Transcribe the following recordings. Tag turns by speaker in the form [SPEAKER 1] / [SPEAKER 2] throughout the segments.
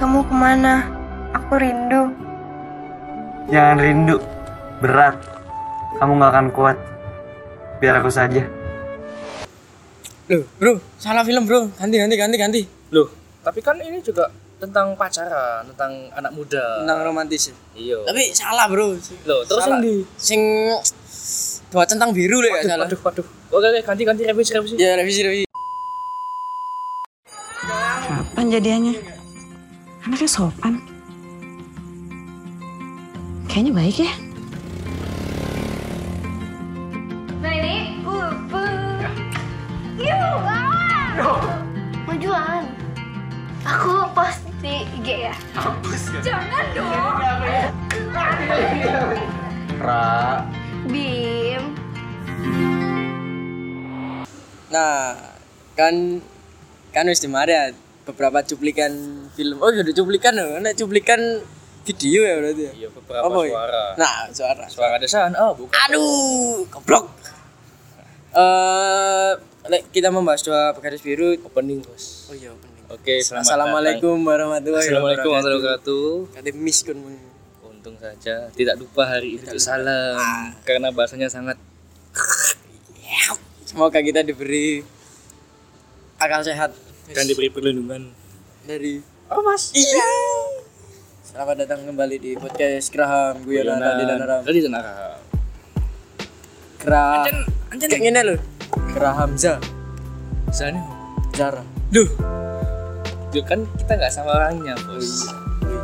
[SPEAKER 1] kamu kemana? Aku rindu.
[SPEAKER 2] Jangan rindu, berat. Kamu gak akan kuat. Biar aku saja.
[SPEAKER 3] Loh, bro, salah film, bro. Ganti.
[SPEAKER 4] Loh, tapi kan ini juga tentang pacaran, tentang anak muda.
[SPEAKER 3] Tentang romantis.
[SPEAKER 4] Iya.
[SPEAKER 3] Tapi salah, bro.
[SPEAKER 4] Loh, terus
[SPEAKER 3] salah.
[SPEAKER 4] yang
[SPEAKER 3] Sing dua centang biru lho gak salah.
[SPEAKER 4] Waduh. Oke, ganti revisi.
[SPEAKER 3] Ya, revisi.
[SPEAKER 5] Kapan jadiannya? Anaknya sopan. Kayaknya baik ya.
[SPEAKER 6] Nah ini pupuk. Yuk, majuan. Aku post di IG ya. Jangan dong.
[SPEAKER 2] Ra.
[SPEAKER 6] Bim.
[SPEAKER 3] Nah, kan wis dimari ya beberapa cuplikan film. Oh, udah cuplikan loh. Nek cuplikan video ya berarti ya.
[SPEAKER 4] Iya, beberapa
[SPEAKER 3] Apa ya?
[SPEAKER 4] suara.
[SPEAKER 3] Nah,
[SPEAKER 4] Suara desahan. Oh, bukan.
[SPEAKER 3] Aduh, goblok. Kita membahas dua garis biru.
[SPEAKER 4] Opening, Bos.
[SPEAKER 3] Oh iya, opening.
[SPEAKER 4] Oke, selamat
[SPEAKER 3] Assalamualaikum warahmatullahi
[SPEAKER 4] Assalamualaikum warahmatullahi wabarakatuh.
[SPEAKER 3] Kata miskun.
[SPEAKER 4] Untung saja tidak lupa hari itu salam karena bahasanya sangat.
[SPEAKER 3] Semoga kita diberi akal sehat
[SPEAKER 4] Dan diberi perlindungan
[SPEAKER 3] dari
[SPEAKER 4] Mas.
[SPEAKER 3] Iya. Selamat datang kembali di podcast Graham Guyonan Radi dan Aram.
[SPEAKER 4] Tadi dan Aram.
[SPEAKER 3] Anjen kayak gini loh. Graham
[SPEAKER 4] Misalnya,
[SPEAKER 3] Zara.
[SPEAKER 4] duh. Duh kan kita nggak sama orangnya, Bos.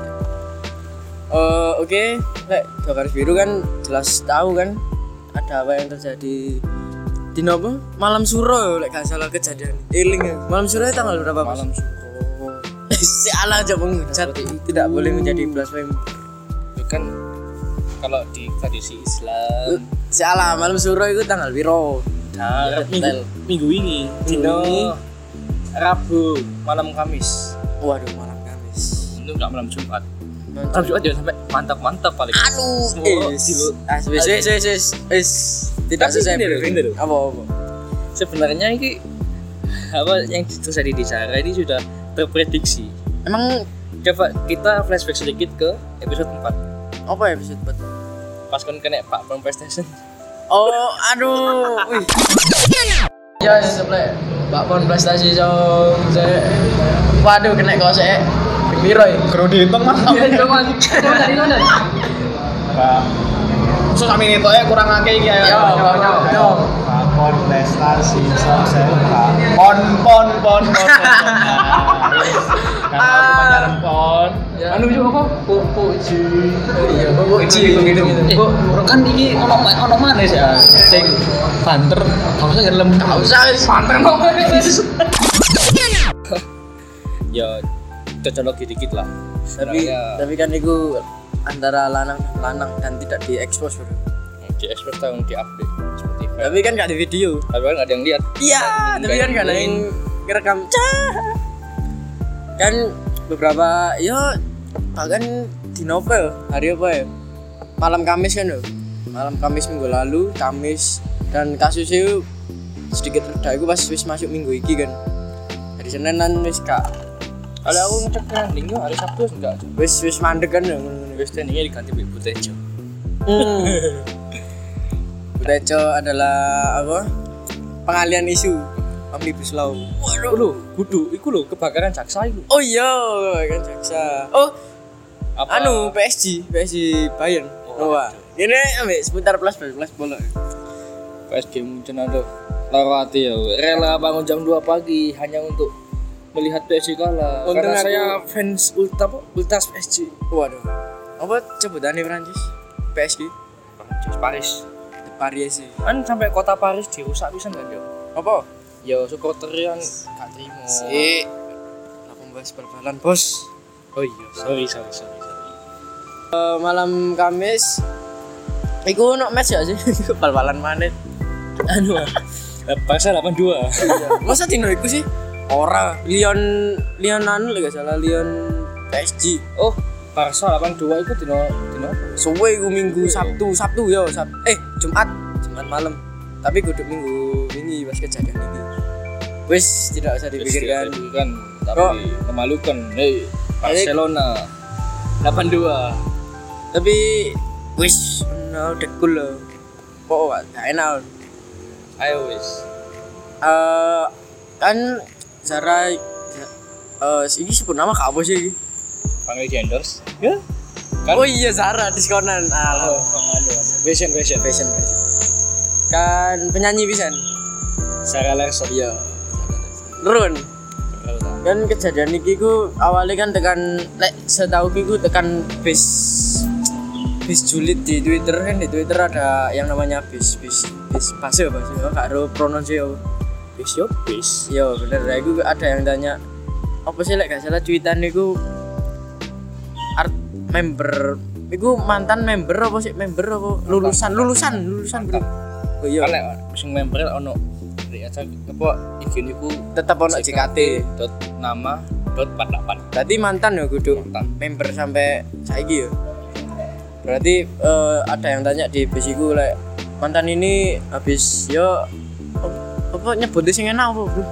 [SPEAKER 3] Oke, dua garis biru kan jelas tahu kan ada apa yang terjadi di nopo malam suro lek gak salah kejadian eling ya. Malam suro tanggal berapa Mas?
[SPEAKER 4] Malam suruh.
[SPEAKER 3] Si ala aja menghujat tidak boleh menjadi blasphemy.
[SPEAKER 4] Itu kan kalau di tradisi Islam
[SPEAKER 3] Si ala malam suro itu tanggal piro?
[SPEAKER 4] nah, minggu ini dino Rabu malam Kamis.
[SPEAKER 3] Waduh, malam Kamis.
[SPEAKER 4] Itu enggak malam Jumat. Malam Jumat jangan sampai mantap paling.
[SPEAKER 3] Wis. Tidak
[SPEAKER 4] Tapi
[SPEAKER 3] selesai
[SPEAKER 4] gini loh,
[SPEAKER 3] briefing.
[SPEAKER 4] gini loh.
[SPEAKER 3] Apa?
[SPEAKER 4] Sebenarnya ini apa yang terjadi di Zara ini sudah terprediksi.
[SPEAKER 3] Emang
[SPEAKER 4] Coba kita flashback sedikit ke episode 4.
[SPEAKER 3] apa episode 4?
[SPEAKER 4] Pas kan kena Pak Bang PlayStation.
[SPEAKER 3] Oh, aduh. Wih. Ya, sebelah Pak Pon prestasi waduh kena kok sik. Piro iki?
[SPEAKER 7] Guru dihitung mas. Pak. So kami ini ya kurang akeh iki ya.
[SPEAKER 3] Yo.
[SPEAKER 7] Pon prestasi sukses. Pon. Kan pacaran pon.
[SPEAKER 4] Anu juga apa? Puji.
[SPEAKER 3] Iya, puji gitu.
[SPEAKER 4] Bu, kan iki ono mana sih? Sing banter. Enggak usah ngelem.
[SPEAKER 3] Enggak usah
[SPEAKER 4] Banter kok. Ya cocok dikit lah.
[SPEAKER 3] Tapi kan itu antara lanang dan tidak diekspos bro.
[SPEAKER 4] Di expose tahun di update Spotify.
[SPEAKER 3] Tapi kan nggak di video.
[SPEAKER 4] Tapi kan nggak ada yang lihat.
[SPEAKER 3] Iya, tapi kan nggak ada yang ngerekam. Kan beberapa bahkan di novel hari apa ya? Malam Kamis kan loh. Malam Kamis minggu lalu, Kamis dan kasus itu sedikit reda. Aku pas wis masuk minggu iki kan. Hari Seninan wis kak.
[SPEAKER 4] Kalau aku ngecek trending yo hari Sabtu enggak.
[SPEAKER 3] Wis mandek kan ya.
[SPEAKER 4] Wis trendingnya diganti Bu Tejo.
[SPEAKER 3] Buteco adalah apa? Pengalian isu Omnibus Law.
[SPEAKER 4] Waduh lho, kudu iku lho kebakaran jaksa iku.
[SPEAKER 3] Oh iya, kan jaksa. Oh,
[SPEAKER 4] Apa?
[SPEAKER 3] PSG Bayern. Wah, ini ambek seputar plus bola.
[SPEAKER 4] PSG mungkin ada lewati ya. Rela bangun jam 2 pagi hanya untuk melihat PSG kalah.
[SPEAKER 3] Untung
[SPEAKER 4] Karena
[SPEAKER 3] aku-
[SPEAKER 4] saya fans ultras PSG.
[SPEAKER 3] Waduh. Apa sebutannya Prancis? PSG?
[SPEAKER 4] Paris.
[SPEAKER 3] Paris sih.
[SPEAKER 4] Kan sampai kota Paris dirusak pisan kan yo.
[SPEAKER 3] Apa?
[SPEAKER 4] Ya supporter yang gak terima.
[SPEAKER 3] Si membahas bal-balan, Bos.
[SPEAKER 4] Oh iya, sorry.
[SPEAKER 3] Malam Kamis iku ono match ya sih? Bal-balan maneh.
[SPEAKER 4] Anu. Barca 82.
[SPEAKER 3] Masa dino iku sih? Ora, Lyon anu lek gak salah Lyon PSG.
[SPEAKER 4] Oh, Barca 82 itu dino apa?
[SPEAKER 3] Suwe iku minggu Sabtu ya, Jumat malam. Tapi kudu minggu wingi pas kejadian ini. Wis tidak usah dipikirkan.
[SPEAKER 4] Kan tapi memalukan. Barcelona 82.
[SPEAKER 3] Tapi wis udah cool loh. Kok gak enak.
[SPEAKER 4] Ayo wis.
[SPEAKER 3] Kan Zara ini sebut nama apa sih ini?
[SPEAKER 4] Panggil di endorse. Ya. Kan?
[SPEAKER 3] Oh iya Zara diskonan.
[SPEAKER 4] Fashion.
[SPEAKER 3] Kan penyanyi pisan.
[SPEAKER 4] Sarah Larson.
[SPEAKER 3] Iya. Run. Kan kejadian iki ku awalnya kan tekan setahu ku tekan bis julid di Twitter kan. Di Twitter ada yang namanya bis base gak ada pronounce apa.
[SPEAKER 4] Bis.
[SPEAKER 3] Yo bener, aku ada yang tanya apa sih gak salah tweetan niku art member iku mantan member apa sih member apa lulusan bro. Oh iya.
[SPEAKER 4] Kan lek sing member ono aja apa iki niku
[SPEAKER 3] Tetap ono JKT.
[SPEAKER 4] .nama.48.
[SPEAKER 3] Berarti mantan ya kudu
[SPEAKER 4] Mantan.
[SPEAKER 3] member sampai saiki ya. Berarti ada yang tanya di bis iku lek mantan ini habis yo apa nyebutnya sing enak apa bro?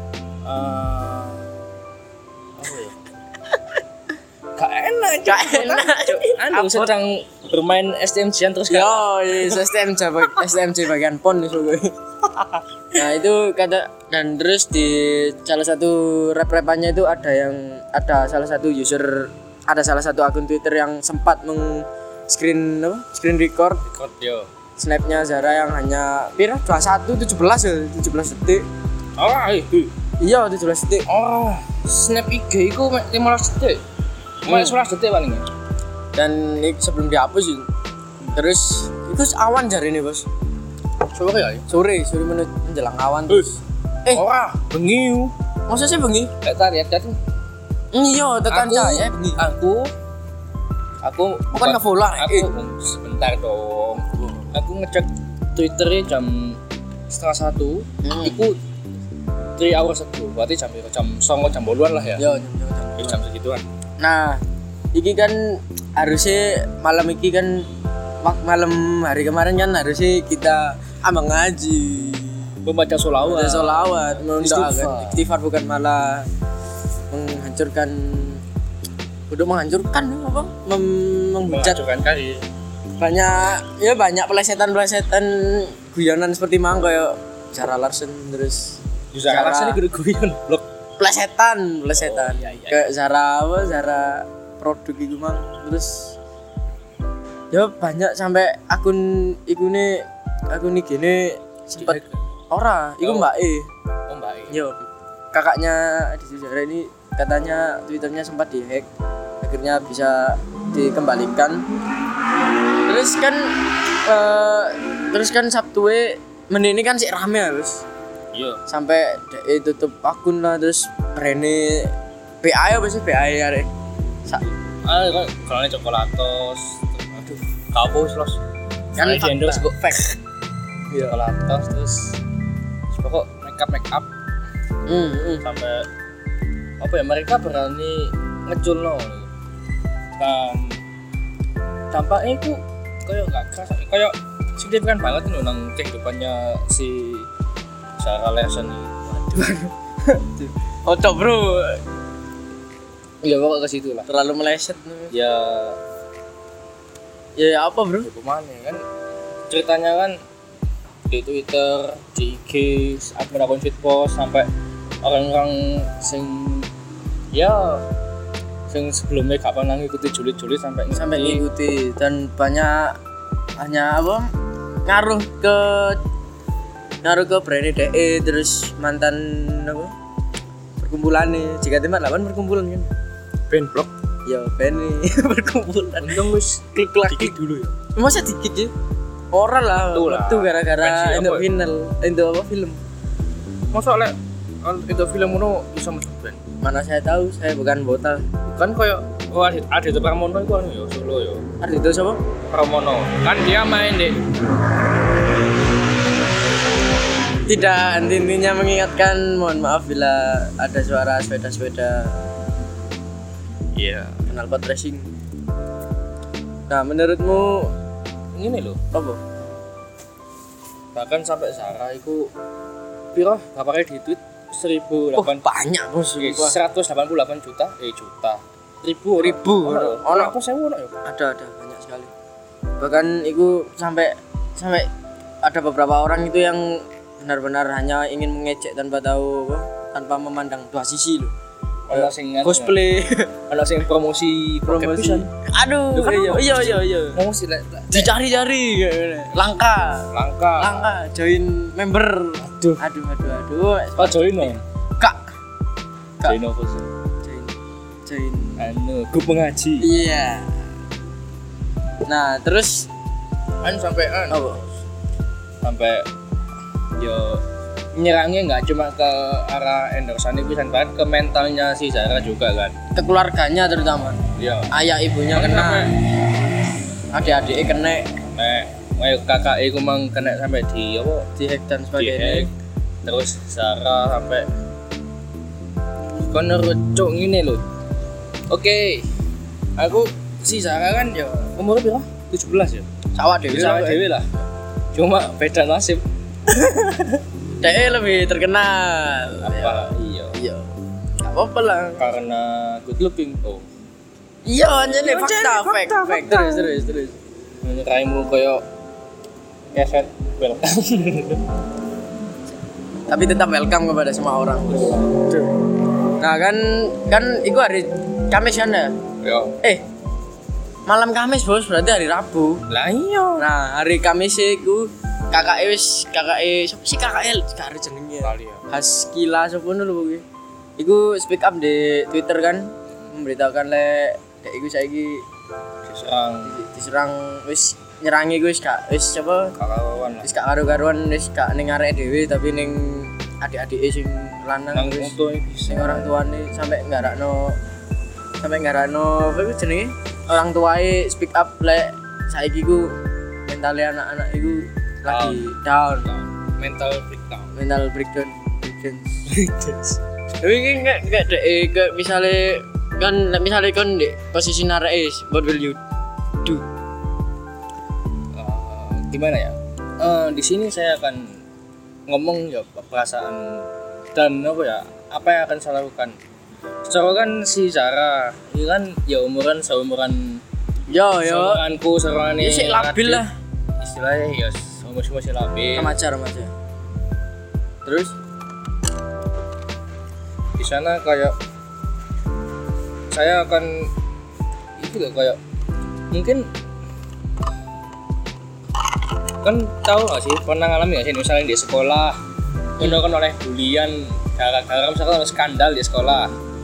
[SPEAKER 4] Gak enak. Anu sedang bermain STMJ terus kan.
[SPEAKER 3] Yo, STMJ bagian pon iso gue. Nah, itu kata dan terus di salah satu rap-rapannya itu ada salah satu akun Twitter yang sempat screen record
[SPEAKER 4] yo.
[SPEAKER 3] snapnya Zara yang hanya 17 detik.
[SPEAKER 4] Oh, itu.
[SPEAKER 3] Iya, 17 detik.
[SPEAKER 4] Oh, snap IG iku mek 15 detik. Mek 11 detik paling.
[SPEAKER 3] Dan ini sebelum dihapus itu. Terus itu awan jari ini, Bos.
[SPEAKER 4] Sore ya?
[SPEAKER 3] Sore menjelang awan terus.
[SPEAKER 4] Ora, bengi.
[SPEAKER 3] Masa sih bengi?
[SPEAKER 4] Gak tarik kan.
[SPEAKER 3] Iya, tekan cahaya bengi.
[SPEAKER 4] Aku
[SPEAKER 3] bukan nge-follow.
[SPEAKER 4] Sebentar dong. Aku ngecek Twitternya jam 12:30. Iku 3 hours ago. Berarti jam 9:00 lah ya.
[SPEAKER 3] Yo,
[SPEAKER 4] Jam segituan.
[SPEAKER 3] Nah, iki kan harusnya malam iki kan malam hari kemarin kan harusnya kita ambang ngaji,
[SPEAKER 4] Membaca sholawat.
[SPEAKER 3] mendoakan istighfar bukan malah menghancurkan apa? Menghujat
[SPEAKER 4] Menghancurkan kali.
[SPEAKER 3] banyak pelesetan guyonan seperti mang kayak Zara Larson terus
[SPEAKER 4] Zara Larson iki guyon blok.
[SPEAKER 3] Plesetan
[SPEAKER 4] iya.
[SPEAKER 3] kayak Zara produk itu mang terus ya banyak sampai akun ini sempat iku Mbak E.
[SPEAKER 4] Oh, Mbak E.
[SPEAKER 3] Yo kakaknya di Zara ini katanya Twitternya sempat dihack akhirnya bisa dikembalikan terus kan Sabtu ini kan sih rame harus.
[SPEAKER 4] Iya.
[SPEAKER 3] Sampai tutup akun lah terus brandnya PA apa sih PA ya rek
[SPEAKER 4] Kalau coklatos. Aduh, kapus los.
[SPEAKER 3] kan
[SPEAKER 4] di endorse kok
[SPEAKER 3] fake. Iya.
[SPEAKER 4] Coklatos terus pokok make up. Sampai apa ya mereka berani ngeculno. Dampaknya itu kayak gak keras, kayak signifikan banget nih nang kehidupannya si Zara Larson ini.
[SPEAKER 3] Ojo bro,
[SPEAKER 4] Ya pokok ke situ lah.
[SPEAKER 3] terlalu meleset.
[SPEAKER 4] Ya
[SPEAKER 3] Apa bro?
[SPEAKER 4] kemana kan ceritanya kan di Twitter, di IG, akun shitpost sampai orang-orang sing sebelumnya gak pernah ngikuti julid sampai
[SPEAKER 3] ngikuti dan banyak hanya ngaruh ke brand DE terus mantan perkumpulan nih jika tempat 8 perkumpulan kan
[SPEAKER 4] band blog
[SPEAKER 3] ya band nih perkumpulan
[SPEAKER 4] untung wis
[SPEAKER 3] klik lagi
[SPEAKER 4] dulu ya
[SPEAKER 3] masa dikit ya orang lah itu gara-gara untuk film
[SPEAKER 4] masa lek itu film itu bisa masuk band
[SPEAKER 3] mana saya tahu saya bukan botal
[SPEAKER 4] kan kayak Ardhito Pramono itu ya Solo ya
[SPEAKER 3] Ardhito siapa?
[SPEAKER 4] Pramono kan dia main deh
[SPEAKER 3] tidak intinya mengingatkan mohon maaf bila ada suara sepeda
[SPEAKER 4] iya
[SPEAKER 3] knalpot racing. Nah menurutmu
[SPEAKER 4] ini loh
[SPEAKER 3] apa?
[SPEAKER 4] bahkan sampai Zara itu piro berapa kali di tweet 1.008
[SPEAKER 3] banyak bos
[SPEAKER 4] 188 juta
[SPEAKER 3] ribu
[SPEAKER 4] ono apa sewu ono ya
[SPEAKER 3] ada banyak sekali. Bahkan itu sampai ada beberapa orang itu yang benar-benar hanya ingin mengejek tanpa tahu apa, tanpa memandang dua sisi loh.
[SPEAKER 4] ono sing
[SPEAKER 3] Cosplay,
[SPEAKER 4] ono sing promosi.
[SPEAKER 3] Aduh, iya.
[SPEAKER 4] Promosi lek
[SPEAKER 3] dicari-cari langka join member. Aduh.
[SPEAKER 4] Pak join no.
[SPEAKER 3] Kak.
[SPEAKER 4] Join apa sih?
[SPEAKER 3] Join
[SPEAKER 4] grup mengaji.
[SPEAKER 3] Iya. Nah, terus
[SPEAKER 4] sampai yo nyerangnya nggak cuma ke arah endorsan itu kan ke mentalnya si Zara juga kan,
[SPEAKER 3] ke keluarganya terutama.
[SPEAKER 4] Iya.
[SPEAKER 3] Ayah ibunya kena, adik-adiknya kena,
[SPEAKER 4] kakak itu mang kena sampai di apa?
[SPEAKER 3] Dihack dan sebagainya.
[SPEAKER 4] Terus Zara sampai kono rucuk ngene lho. Oke. Aku si Zara kan ya umurnya berapa? 17 ya.
[SPEAKER 3] Sawah dewe
[SPEAKER 4] lah. Cuma beda nasib.
[SPEAKER 3] Dia lebih terkenal.
[SPEAKER 4] Apa? Iya.
[SPEAKER 3] Gak apa-apa lah.
[SPEAKER 4] Karena good looking. Oh.
[SPEAKER 3] Iya, anjene fakta. Terus.
[SPEAKER 4] Raimu koyo keset welcome.
[SPEAKER 3] Tapi tetap welcome kepada semua orang. Nah, kan itu hari Kamis kan ya?
[SPEAKER 4] Yo.
[SPEAKER 3] Malam Kamis bos, berarti hari Rabu.
[SPEAKER 4] Lah iya.
[SPEAKER 3] Nah, hari Kamis itu kakak jenenge Haskila sapa lho kuwi. Iku speak up di Twitter kan memberitakan lek dek iku saiki diserang wis nyerangi wis gak karu-karuan wis gak ning arek dhewe tapi ning adik-adike sing lanang wis sing orang tuane sampai nggarakno apa iku jenenge orang tuae speak up lek saiki ku mentalnya anak-anak iku lagi down. Mental breakdown. Tapi enggak dek ke misalnya kan di posisi narais, what will you do?
[SPEAKER 4] Gimana ya? Di sini saya akan ngomong ya perasaan dan apa yang akan saya lakukan. Secara kan si Zara ini kan ya seumuran seumuranku
[SPEAKER 3] ya sih labil lah
[SPEAKER 4] istilahnya ya masih labil
[SPEAKER 3] remaja. Terus
[SPEAKER 4] di sana kayak saya akan itu loh kayak mungkin kan tahu nggak sih pernah ngalamin nggak sih misalnya di sekolah kan oleh bulian gara-gara misalkan skandal di sekolah.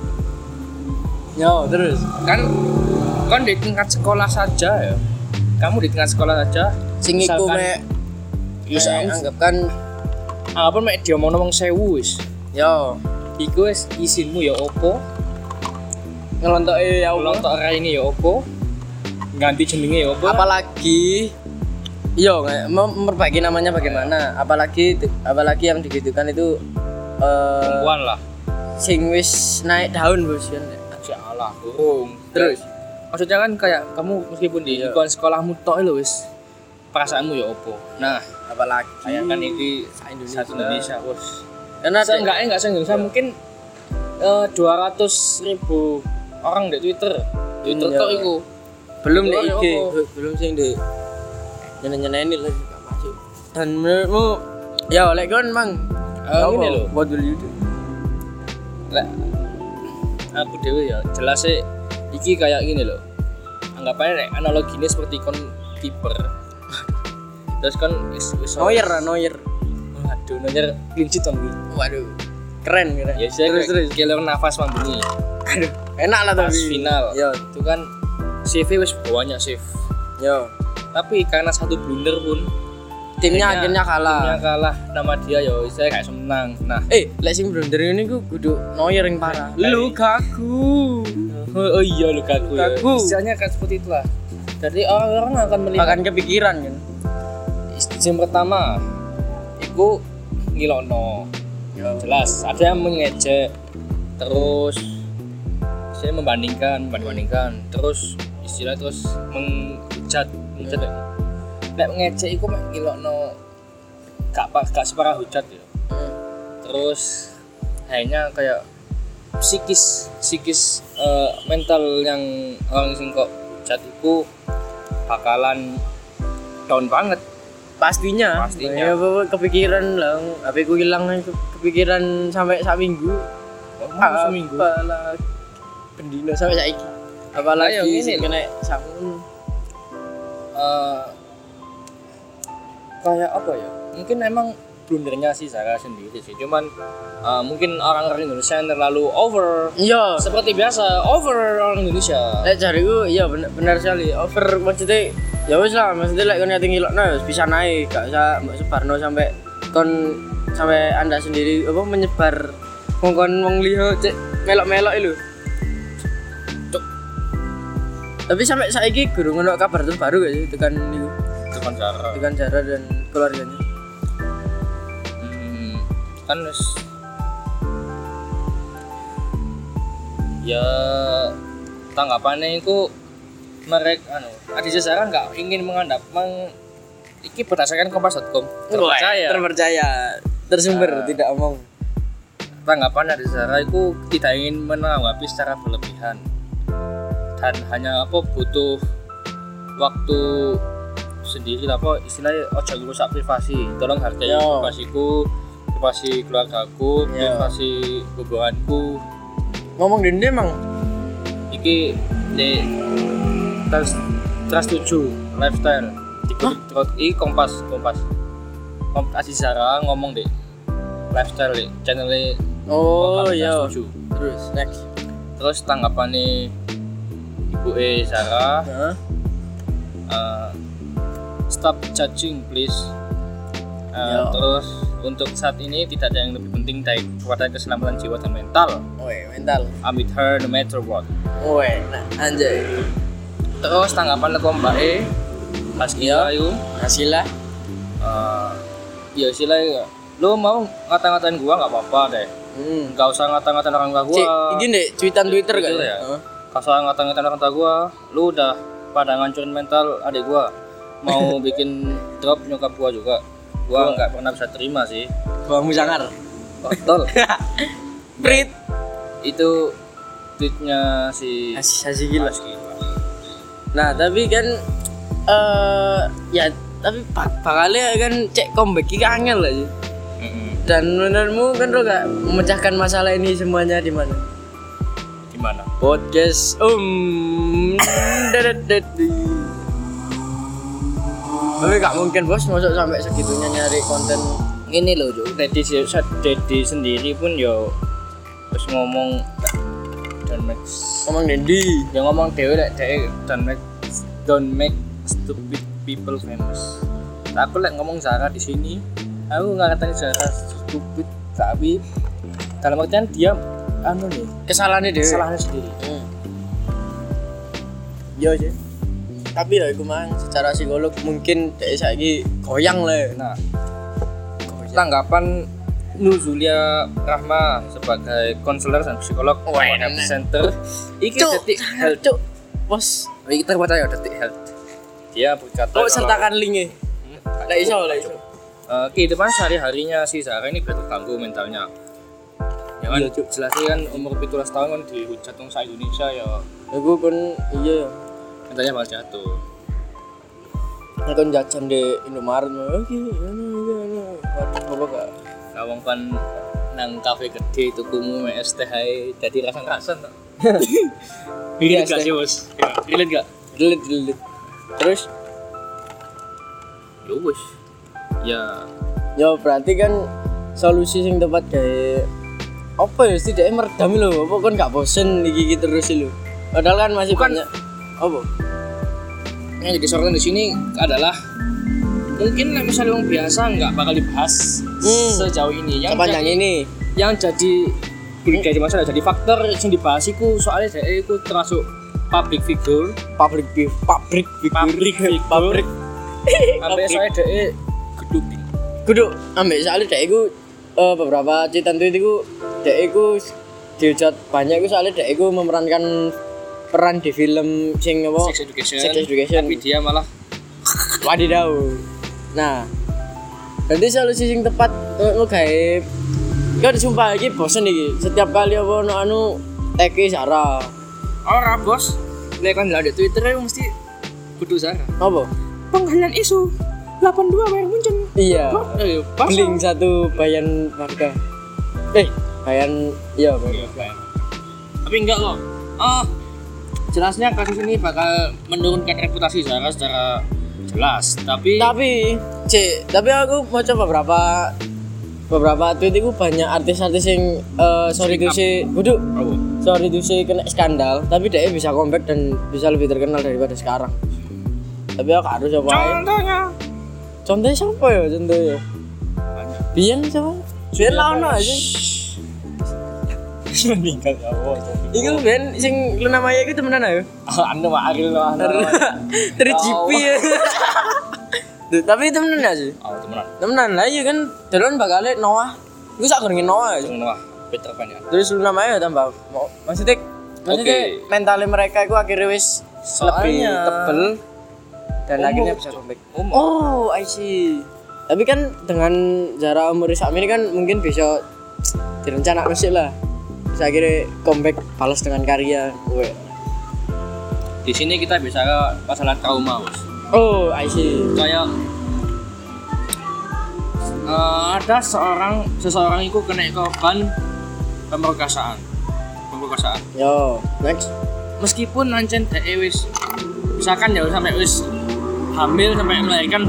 [SPEAKER 3] Yo, terus
[SPEAKER 4] kan di tingkat sekolah saja ya. Kamu di tingkat sekolah saja
[SPEAKER 3] sing iku mek anggap kan
[SPEAKER 4] apa mek dia mau ngomong sewu wis.
[SPEAKER 3] Yo,
[SPEAKER 4] iku wis isinmu ya opo?
[SPEAKER 3] Ngelontoke ya
[SPEAKER 4] ngelontok raine ya opo? Ganti jenenge ya opo?
[SPEAKER 3] Apalagi memperbaiki namanya bagaimana? Apalagi yang digitukan itu
[SPEAKER 4] perempuan lah.
[SPEAKER 3] Sing wis naik daun bos kan.
[SPEAKER 4] Alah, burung. Terus maksudnya kan kayak kamu meskipun di lingkungan sekolahmu tok lho wis perasaanmu ya opo. Nah,
[SPEAKER 3] apalagi
[SPEAKER 4] bayangkan ini Indonesia bos.
[SPEAKER 3] Karena
[SPEAKER 4] enggak se-Indonesia mungkin 200.000 orang di Twitter tok iku.
[SPEAKER 3] Belum di IG, belum sing di nyeneni lagi gak masuk. Dan menurutmu ya oleh kon mang
[SPEAKER 4] ngene lho,
[SPEAKER 3] what will you do?
[SPEAKER 4] Lek aku dewe ya jelas sih iki kayak gini loh. Anggapannya analoginya seperti kon kiper. Terus kan
[SPEAKER 3] Neuer.
[SPEAKER 4] Waduh, Neuer clean sheet on.
[SPEAKER 3] Waduh. Keren.
[SPEAKER 4] Ya terus killer nafas mang bunyi.
[SPEAKER 3] Aduh, enak lah tapi
[SPEAKER 4] final.
[SPEAKER 3] Yo,
[SPEAKER 4] itu kan CV wis banyak save.
[SPEAKER 3] Yo.
[SPEAKER 4] Tapi karena satu blunder pun
[SPEAKER 3] timnya akhirnya kalah.
[SPEAKER 4] Nama dia yo saya kayak senang. Nah,
[SPEAKER 3] lek sing blunder ini ku kudu Neuer yang parah. Lukaku.
[SPEAKER 4] Oh iya Lukaku. Misalnya kan seperti itulah. Jadi orang-orang akan melihat
[SPEAKER 3] akan kepikiran kan.
[SPEAKER 4] Yang pertama iku ngilokno. Jelas ada yang mengejek terus saya membandingkan terus istilah terus menghujat nek ngejek iku mek ngilokno gak separah hujat ya. Terus hanya kayak psikis mental yang orang sing kok chat iku bakalan down banget.
[SPEAKER 3] Pastinya. Ya kepikiran lah, HP ku hilang kepikiran sampai sak minggu.
[SPEAKER 4] Seminggu.
[SPEAKER 3] Apalagi pendino sampai saiki. Apalagi ini kena samun.
[SPEAKER 4] Kayak apa ya? Mungkin emang blundernya si Zara sendiri sih. Cuman mungkin orang-orang Indonesia yang terlalu over.
[SPEAKER 3] Iya.
[SPEAKER 4] Seperti biasa, over orang Indonesia.
[SPEAKER 3] Cariku iya benar sekali. Over maksudnya ya wis lah, maksudnya lek kon ati ngilokno ya bisa naik, gak usah mbok sebarno sampai Anda sendiri apa menyebar ngongkon wong liya cek melok-melok lho. Tapi sampai saiki gurung ono kabar terbaru gak sih tekan niku? Tekan Zara dan keluarganya.
[SPEAKER 4] Kan wis ya tanggapannya itu mereka Aditya Zara nggak ingin iki berdasarkan kompas.com
[SPEAKER 3] terpercaya tersumber tidak omong.
[SPEAKER 4] Tanggapan Aditya Zara itu tidak ingin menanggapi secara berlebihan dan hanya butuh waktu sendiri istilahnya ojo rusak privasi, tolong hargai privasiku, privasi keluargaku, privasi hubunganku.
[SPEAKER 3] Ngomong dende emang
[SPEAKER 4] iki di Trust 7 lifestyle di Kompas Aditya Zara ngomong deh lifestyle deh channelnya.
[SPEAKER 3] Iya terus next
[SPEAKER 4] terus tanggapannya Ibu Zara stop judging please. Terus untuk saat ini tidak ada yang lebih penting daripada keselamatan jiwa dan mental.
[SPEAKER 3] Mental.
[SPEAKER 4] I'm with her no matter what.
[SPEAKER 3] Anjay.
[SPEAKER 4] Terus tanggapan leko mbake Hasila itu.
[SPEAKER 3] Hasila.
[SPEAKER 4] Ya Hasila ya. Lo mau ngata-ngatain gua enggak apa-apa deh. Enggak usah ngata-ngatain orang tua gua.
[SPEAKER 3] Iki ndek cuitan Twitter kan
[SPEAKER 4] ya. Enggak usah ngata-ngatain orang tua gua. Lu udah pada ngancurin mental adik gua. Mau bikin drop nyokap gua juga. Gua enggak pernah bisa terima sih.
[SPEAKER 3] Bawangmu sangar.
[SPEAKER 4] Betul.
[SPEAKER 3] Prit.
[SPEAKER 4] Itu tweetnya si
[SPEAKER 3] Hasila. Nah, tapi kan ya tapi bakalnya kan cek comeback iki angel lah sih. Dan menurutmu kan lo gak memecahkan masalah ini semuanya di mana?
[SPEAKER 4] Di mana?
[SPEAKER 3] Podcast tapi gak mungkin bos masuk sampai segitunya nyari konten
[SPEAKER 4] ini loh Jo. Dedi sendiri pun yo terus ngomong
[SPEAKER 3] Dendi
[SPEAKER 4] dia ngomong dewe don't make stupid people famous. Aku ngomong Zara di sini aku nggak katanya Zara stupid tapi dalam artian dia kesalahannya sendiri.
[SPEAKER 3] Iya sih. Tapi ya iku mang secara psikolog mungkin dhek saiki goyang lah.
[SPEAKER 4] Nah, tanggapan Nuzulia Rahma sebagai konselor dan psikolog center iki detik health bos iki terpercaya detik health. Dia berkata
[SPEAKER 3] sertakan linknya. Nggak iso.
[SPEAKER 4] Kehidupan sehari-harinya si Zara ini terganggu mentalnya. Ya kan jelasnya kan umur 17 tahun kan dihujat wong sak Indonesia ya.
[SPEAKER 3] Aku kan iya
[SPEAKER 4] mentalnya bakal jatuh.
[SPEAKER 3] Nek kon jajan di Indomaret iki waduh apa gak
[SPEAKER 4] Lawang kan nang kafe gede tukumu es teh ae dadi rasan-rasan to. Relate gak sih, Bos? Relate gak?
[SPEAKER 3] Relate. Terus
[SPEAKER 4] yo wis. Ya
[SPEAKER 3] berarti kan solusi sing tepat kayak apa ya setidaknya meredam lho, apa kan gak bosen iki terus lho. Padahal kan masih banyak apa?
[SPEAKER 4] Yang jadi sorotan di sini adalah mungkin misalnya orang biasa nggak bakal dibahas sejauh ini yang jadi masalah jadi faktor yang dibahas itu soalnya saya itu termasuk public figure sampai saya dia
[SPEAKER 3] geduk ambek soalnya dia itu beberapa cerita itu dia itu dihujat banyak itu soalnya dia itu memerankan peran di film sing apa
[SPEAKER 4] Sex Education tapi dia malah
[SPEAKER 3] wadidaw. Nah, nanti solusi sing tepat lo kayak Kan sumpah iki bosen iki. Setiap kali apa anu teki Sarah.
[SPEAKER 4] Ora bos, lek kan di Twitter mesti kudu Sarah.
[SPEAKER 3] Apa?
[SPEAKER 4] Pengalian isu 82 bayar muncul.
[SPEAKER 3] Iya.
[SPEAKER 4] Pas.
[SPEAKER 3] Bling satu bayan harga. Bayan iya bayan.
[SPEAKER 4] Tapi enggak kok. Jelasnya kasus ini bakal menurunkan reputasi Sarah secara jelas. Tapi
[SPEAKER 3] aku mau coba beberapa tweet itu banyak artis-artis yang sorry to say kena skandal, tapi dia bisa comeback dan bisa lebih terkenal daripada sekarang. Tapi aku harus coba. Contohnya siapa ya? Bian siapa? Bian Launa aja.
[SPEAKER 4] meninggal ya Allah.
[SPEAKER 3] Iku Ben sing Luna Maya iku temenan ayo.
[SPEAKER 4] Anu mah Ariel lah.
[SPEAKER 3] Dari GP ya. Duh, tapi temenan aja sih.
[SPEAKER 4] Oh, temenan.
[SPEAKER 3] Temenan lah iya kan dalan bakal Noah. Iku sak gorenge Noah aja.
[SPEAKER 4] Noah, Peter Pan ya.
[SPEAKER 3] Terus Luna Maya tambah maksudnya mentalnya mereka itu akhirnya wis lebih tebel dan akhirnya bisa comeback. Oh, I see. Tapi kan dengan jarak umur saat ini kan mungkin bisa direncanakan sih lah. Bisa akhirnya comeback balas dengan karya.
[SPEAKER 4] Di sini kita bisa ke masalah trauma, Bos.
[SPEAKER 3] Oh, I see.
[SPEAKER 4] Kayak ada seseorang itu kena korban pemerkosaan.
[SPEAKER 3] Yo, next.
[SPEAKER 4] Meskipun nancen dhek wis misalkan ya sampai wis hamil sampai melahirkan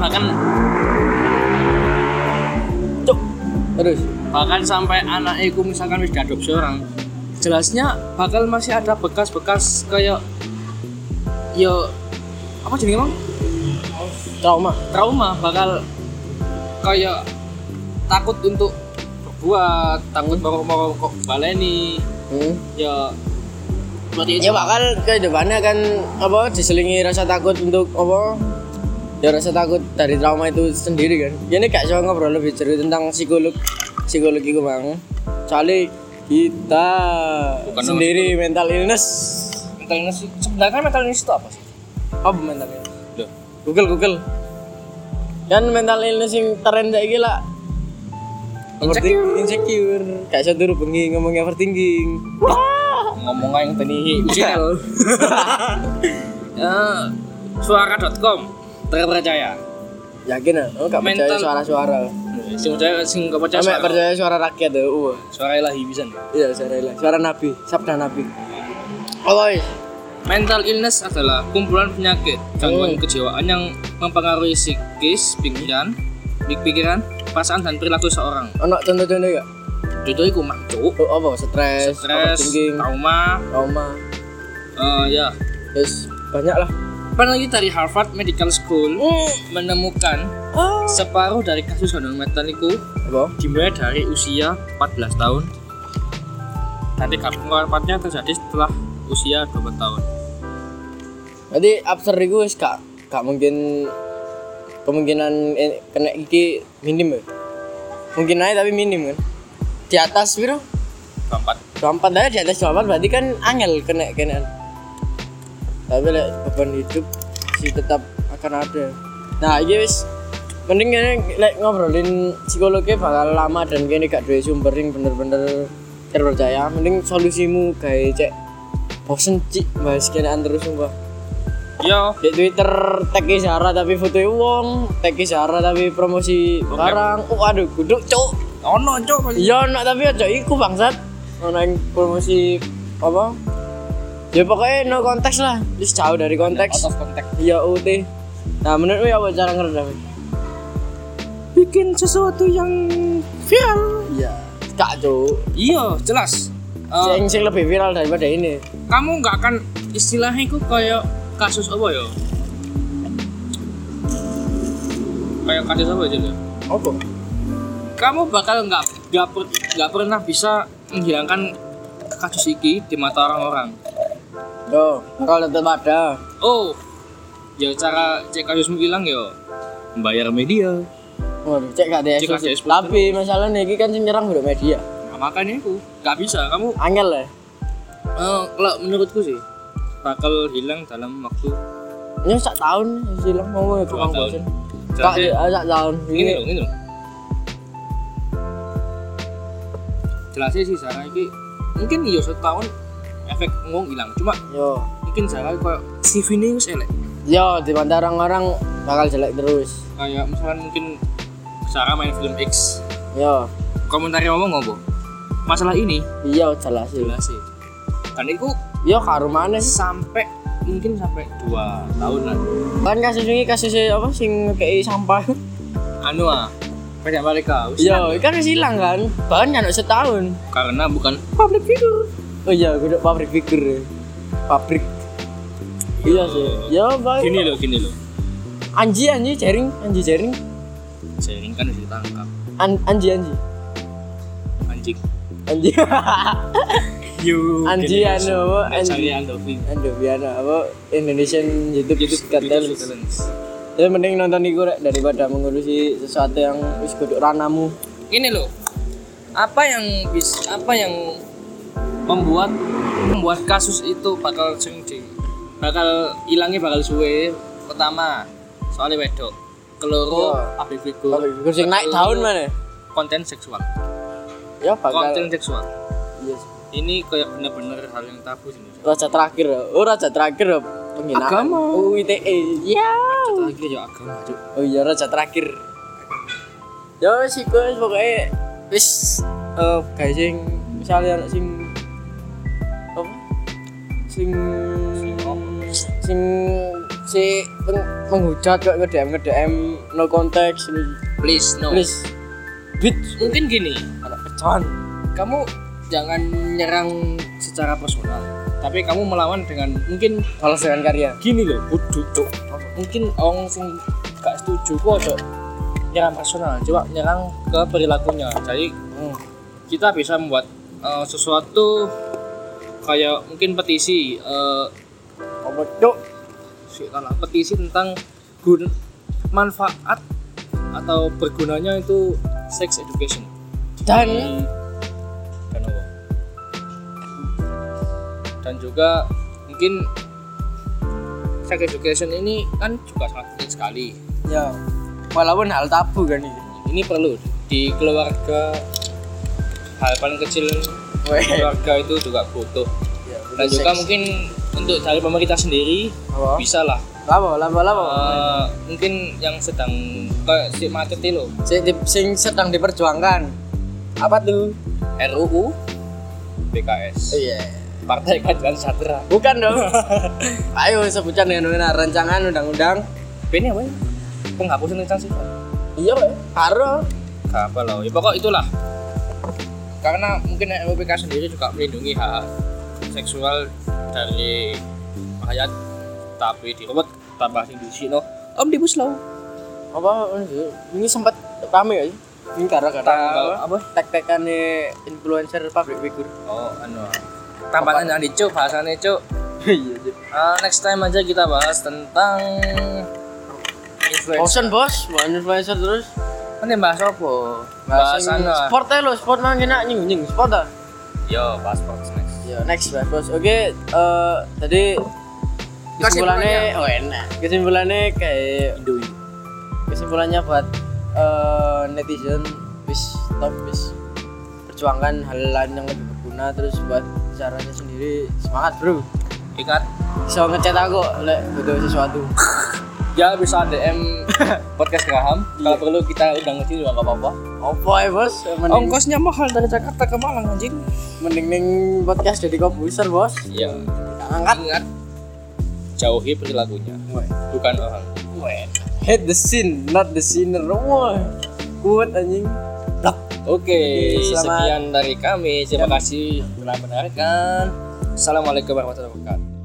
[SPEAKER 4] bahkan sampai anak iku misalkan wis diadopsi orang, jelasnya bakal masih ada bekas-bekas kayak yo apa jenenge Bang? Trauma bakal kayak takut untuk berbuat, takut mau kok baleni. Ya berarti
[SPEAKER 3] ya bakal ke depannya kan apa diselingi rasa takut untuk apa? Ya rasa takut dari trauma itu sendiri kan. Ya ini kayak ngobrol lebih cerita tentang psikologi gue Bang. Soalnya kita bukan sendiri mental illness
[SPEAKER 4] sebenarnya mental illness itu apa sih?
[SPEAKER 3] Apa mental illness? Loh, Google. Kan mental illness yang tren kayak gila. Insecure. Kayak saya dulu bengi ngomongnya overthinking.
[SPEAKER 4] Ngomong yang tadi channel. Suara.com terpercaya.
[SPEAKER 3] Yakin ah? Oh, gak percaya suara-suara.
[SPEAKER 4] Sing gak percaya suara.
[SPEAKER 3] Percaya suara rakyat tuh.
[SPEAKER 4] Suara ilahi bisa.
[SPEAKER 3] Iya, suara ilahi. Suara nabi, sabda nabi. Oh,
[SPEAKER 4] mental illness adalah kumpulan penyakit gangguan kejiwaan yang mempengaruhi psikis, pikiran, perasaan dan perilaku seorang.
[SPEAKER 3] Ono contoh-contoh enggak?
[SPEAKER 4] Contoh iku mah, Cuk.
[SPEAKER 3] Oh, apa? Stres,
[SPEAKER 4] trauma. Ya.
[SPEAKER 3] Terus banyak lah.
[SPEAKER 4] Peneliti dari Harvard Medical School menemukan separuh dari kasus gangguan mental itu dimulai dari usia 14 tahun. Nanti keempatnya terjadi setelah usia 20 tahun.
[SPEAKER 3] Jadi absurd itu wis gak mungkin kemungkinan kena iki minim ya. Mungkin aja tapi minim kan. Di atas piro? 24 aja di atas 24 berarti kan angel kena. Tapi beban hidup masih tetap akan ada. Nah, ini wis mending ngobrolin psikologi bakal lama dan kene gak duwe sumber yang bener-bener terpercaya. Mending solusimu gawe cek bosen cik bahas kenaan terus sumpah.
[SPEAKER 4] Yo,
[SPEAKER 3] di Twitter tag Zara tapi fotoe wong, tag Zara tapi promosi barang. Aduh, guduk cuk.
[SPEAKER 4] Ono cuk.
[SPEAKER 3] Iya, ono tapi aja iku bangsat. Ono yang promosi apa? Ya pokoknya no konteks lah, just jauh dari konteks.
[SPEAKER 4] Out of context.
[SPEAKER 3] Iya UT. Nah menurutmu apa cara ngeredam?
[SPEAKER 4] Bikin sesuatu yang viral.
[SPEAKER 3] Iya. Gak Cuk.
[SPEAKER 4] Iya jelas.
[SPEAKER 3] Sing lebih viral daripada ini.
[SPEAKER 4] Kamu nggak akan istilahnya itu kayak kasus apa ya? Kayak kasus apa aja?
[SPEAKER 3] Apa?
[SPEAKER 4] Kamu bakal nggak pernah bisa menghilangkan kasus ini di mata orang-orang.
[SPEAKER 3] Oh, bakal tetap ada.
[SPEAKER 4] Oh, ya cara cek kasusmu hilang ya membayar media.
[SPEAKER 3] Waduh, cek gak ada eksklusif. Tapi masalahnya ini kan nyerang udah media.
[SPEAKER 4] Nah, makanya itu nggak bisa kamu.
[SPEAKER 3] Angel ya.
[SPEAKER 4] Kalau menurutku sih bakal hilang dalam waktu.
[SPEAKER 3] Ini sak tahun hilang mau ya kurang bosan. Sak tahun.
[SPEAKER 4] Ini loh. jelasnya sih Zara ini mungkin iya setahun efek ngomong hilang cuma
[SPEAKER 3] Yo.
[SPEAKER 4] mungkin Zara kayak CV ini wis elek
[SPEAKER 3] Yo, di mata orang-orang bakal jelek terus.
[SPEAKER 4] kayak misalkan mungkin Zara main film X
[SPEAKER 3] Yo.
[SPEAKER 4] komentarnya ngomong ngopo masalah ini
[SPEAKER 3] Iya, jelas sih.
[SPEAKER 4] jelas sih dan itu
[SPEAKER 3] Yo, karo maneh.
[SPEAKER 4] sampai 2 tahun lah
[SPEAKER 3] Kan kasusnya apa sing ngekei sampah.
[SPEAKER 4] anu banyak balik kau
[SPEAKER 3] Yo, kan wis hilang kan. Bahkan kan setahun.
[SPEAKER 4] karena bukan public figure
[SPEAKER 3] Oh iya, kudu pabrik figure. Pabrik. Iya sih. Ya, baik.
[SPEAKER 4] gini loh
[SPEAKER 3] Anji jaring.
[SPEAKER 4] sharing kan udah ditangkap
[SPEAKER 3] Anji.
[SPEAKER 4] anjing
[SPEAKER 3] Anji.
[SPEAKER 4] you
[SPEAKER 3] Anji anu apa?
[SPEAKER 4] Anji Andovi
[SPEAKER 3] Andoviana apa Indonesian YouTube Got Talent. Ya mending nonton iku rek daripada mengurusi sesuatu yang wis kudu ranamu.
[SPEAKER 4] ini loh apa yang membuat kasus itu bakal hilangnya bakal suwe. Pertama soalnya wedok keloro public figure
[SPEAKER 3] Figure sing naik daun mana?
[SPEAKER 4] konten seksual
[SPEAKER 3] Ya bakal.
[SPEAKER 4] konten seksual
[SPEAKER 3] Yes.
[SPEAKER 4] ini kayak bener-bener hal yang tabu sih
[SPEAKER 3] Raja terakhir. Raja terakhir penghinaan.
[SPEAKER 4] Agama.
[SPEAKER 3] UITE. Ya.
[SPEAKER 4] lagi ya agama Cuk.
[SPEAKER 3] Oh iya raja terakhir. Ya wis iku wis pokoke wis gawe sing misalnya anak sing apa? Sing menghujat kok nge-DM no konteks
[SPEAKER 4] please no
[SPEAKER 3] please bit
[SPEAKER 4] mungkin gini
[SPEAKER 3] anak pecahan.
[SPEAKER 4] kamu jangan nyerang secara personal tapi kamu melawan dengan mungkin
[SPEAKER 3] Balas dengan karya.
[SPEAKER 4] gini loh kudu Cuk. Mungkin orang sing gak setuju kok Cuk. Nyerang personal coba nyerang ke perilakunya jadi kita bisa membuat sesuatu kayak mungkin petisi
[SPEAKER 3] Apa cuk?
[SPEAKER 4] petisi tentang manfaat atau bergunanya itu sex education
[SPEAKER 3] Dan
[SPEAKER 4] apa? Dan juga mungkin sex education ini kan juga sangat penting sekali
[SPEAKER 3] ya walaupun hal tabu kan ini.
[SPEAKER 4] ini perlu di keluarga hal paling kecil keluarga itu juga butuh
[SPEAKER 3] Ya,
[SPEAKER 4] dan juga mungkin untuk dari pemerintah sendiri
[SPEAKER 3] apa?
[SPEAKER 4] bisa lah
[SPEAKER 3] Lama.
[SPEAKER 4] mungkin yang sedang kayak si macet itu loh
[SPEAKER 3] Sing sedang diperjuangkan. Apa tuh?
[SPEAKER 4] RUU PKS
[SPEAKER 3] Iya.
[SPEAKER 4] Partai Keadilan Sejahtera
[SPEAKER 3] Bukan dong. Ayo sebutkan dengan rancangan undang-undang.
[SPEAKER 4] ini apa ya? Penghapusan instansi
[SPEAKER 3] Iya, Pak. Karo.
[SPEAKER 4] gak apa loh ya pokok itulah karena mungkin RUU PKS sendiri juga melindungi hak seksual dari rakyat tapi direbut tambah sing disino omnibus law
[SPEAKER 3] Apa ini sempat rame ya? Ini gara-gara
[SPEAKER 4] apa
[SPEAKER 3] tek-tekannya influencer public figure.
[SPEAKER 4] oh anu tambahan yang dicuk bahasanya cuk
[SPEAKER 3] Iya.
[SPEAKER 4] next time aja kita bahas tentang
[SPEAKER 3] Bosen bos, bukan influencer terus.
[SPEAKER 4] kan yang bahas apa? Bahas anu
[SPEAKER 3] sport aja lo, sport mah enak nying sport ah.
[SPEAKER 4] yo bahas sports next
[SPEAKER 3] Yo next bahas bos. Oke, tadi kesimpulannya enak. Kesimpulannya kayak kesimpulannya buat netizen wis stop wis perjuangkan hal lain yang lebih berguna terus buat caranya sendiri semangat bro.
[SPEAKER 4] ingat
[SPEAKER 3] Bisa ngechat aku lek butuh sesuatu.
[SPEAKER 4] ya bisa DM podcast Graham kalau perlu kita undang ke sini juga nggak apa-apa
[SPEAKER 3] Apa ya bos?
[SPEAKER 4] ongkosnya mahal dari Jakarta ke Malang anjing
[SPEAKER 3] Mending ning podcast jadi komposer bos.
[SPEAKER 4] iya
[SPEAKER 3] Angkat.
[SPEAKER 4] ingat jauhi perilakunya bukan orang
[SPEAKER 3] Hate the scene, not the sinner. Wah, kuat anjing.
[SPEAKER 4] Oke,
[SPEAKER 3] selamat.
[SPEAKER 4] sekian dari kami. Terima kasih telah mendengarkan. Assalamualaikum warahmatullahi wabarakatuh.